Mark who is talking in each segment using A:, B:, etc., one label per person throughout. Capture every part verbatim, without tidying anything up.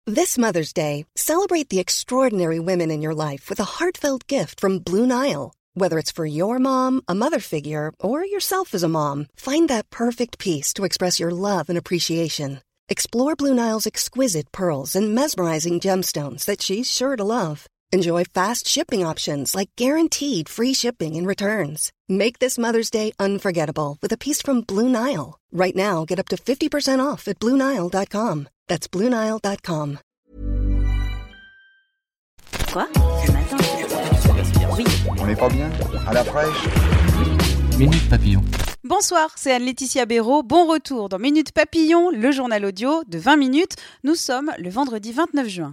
A: This Mother's Day, celebrate the extraordinary women in your life with a heartfelt gift from Blue Nile. Whether it's for your mom, a mother figure, or yourself as a mom, find that perfect piece to express your love and appreciation. Explore Blue Nile's exquisite pearls and mesmerizing gemstones that she's sure to love. Enjoy fast shipping options like guaranteed free shipping and returns. Make this Mother's Day unforgettable with a piece from Blue Nile. Right now, get up to fifty percent off at blue nile dot com. That's blue nile dot com.
B: Quoi? Ce matin, oui.
C: On n'est pas bien? À la fraîche?
D: Minute Papillon.
E: Bonsoir, c'est Anne-Laetitia Béraud. Bon retour dans Minute Papillon, le journal audio de vingt minutes. Nous sommes le vendredi vingt-neuf juin.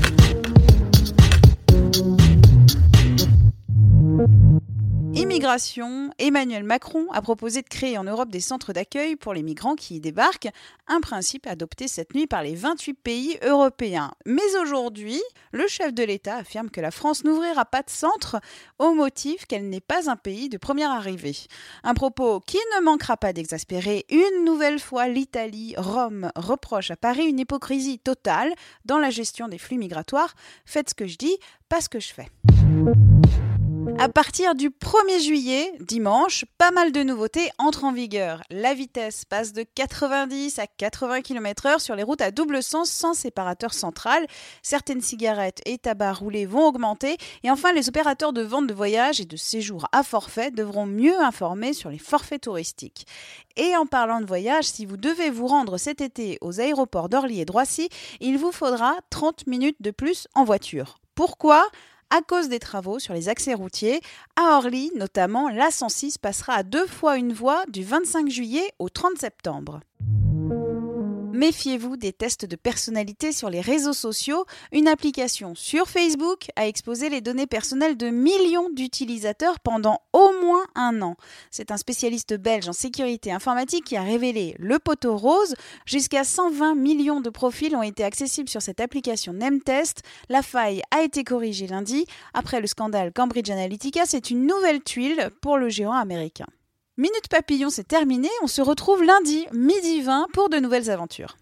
E: Immigration, Emmanuel Macron a proposé de créer en Europe des centres d'accueil pour les migrants qui y débarquent, un principe adopté cette nuit par les vingt-huit pays européens. Mais aujourd'hui, le chef de l'État affirme que la France n'ouvrira pas de centre au motif qu'elle n'est pas un pays de première arrivée. Un propos qui ne manquera pas d'exaspérer une nouvelle fois l'Italie. Rome reproche à Paris une hypocrisie totale dans la gestion des flux migratoires. Faites ce que je dis, pas ce que je fais. À partir du premier juillet, dimanche, pas mal de nouveautés entrent en vigueur. La vitesse passe de quatre-vingt-dix à quatre-vingts kilomètres heure sur les routes à double sens sans séparateur central. Certaines cigarettes et tabacs roulés vont augmenter. Et enfin, les opérateurs de vente de voyages et de séjours à forfait devront mieux informer sur les forfaits touristiques. Et en parlant de voyage, si vous devez vous rendre cet été aux aéroports d'Orly et de Roissy, il vous faudra trente minutes de plus en voiture. Pourquoi ? À cause des travaux sur les accès routiers, à Orly notamment, l'A cent six passera à deux fois une voie du vingt-cinq juillet au trente septembre. Méfiez-vous des tests de personnalité sur les réseaux sociaux. Une application sur Facebook a exposé les données personnelles de millions d'utilisateurs pendant au moins un an. C'est un spécialiste belge en sécurité informatique qui a révélé le poteau rose. Jusqu'à cent vingt millions de profils ont été accessibles sur cette application NameTest. La faille a été corrigée lundi. Après le scandale Cambridge Analytica, c'est une nouvelle tuile pour le géant américain. Minute Papillon, c'est terminé. On se retrouve lundi, midi vingt, pour de nouvelles aventures.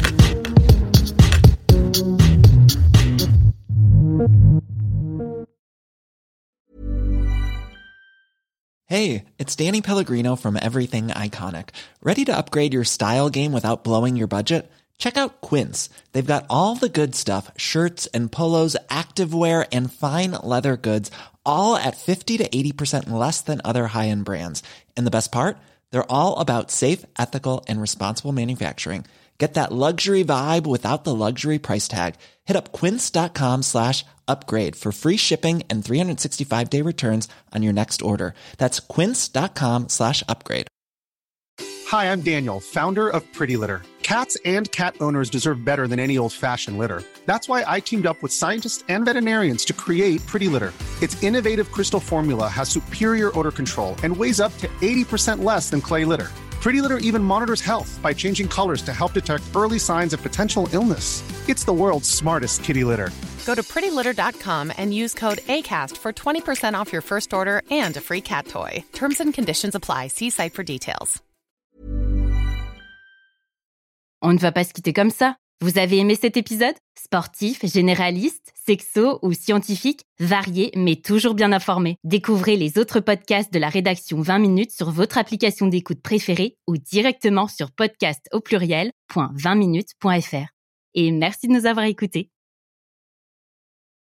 F: Hey, it's Danny Pellegrino from Everything Iconic. Ready to upgrade your style game without blowing your budget? Check out Quince. They've got all the good stuff, shirts and polos, activewear, and fine leather goods, all at fifty to eighty percent less than other high-end brands. And the best part? They're all about safe, ethical, and responsible manufacturing. Get that luxury vibe without the luxury price tag. Hit up quince.com slash upgrade for free shipping and three sixty-five day returns on your next order. That's quince.com slash upgrade.
G: Hi, I'm Daniel, founder of Pretty Litter. Cats and cat owners deserve better than any old-fashioned litter. That's why I teamed up with scientists and veterinarians to create Pretty Litter. Its innovative crystal formula has superior odor control and weighs up to eighty percent less than clay litter. Pretty Litter even monitors health by changing colors to help detect early signs of potential illness. It's the world's smartest kitty litter.
H: Go to pretty litter dot com and use code ACAST for twenty percent off your first order and a free cat toy. Terms and conditions apply. See site for details.
I: On ne va pas se quitter comme ça. Vous avez aimé cet épisode ? Sportif, généraliste, sexo ou scientifique, varié mais toujours bien informé. Découvrez les autres podcasts de la rédaction vingt minutes sur votre application d'écoute préférée ou directement sur podcast au pluriel point vingt minutes point f r. Et merci de nous avoir écoutés.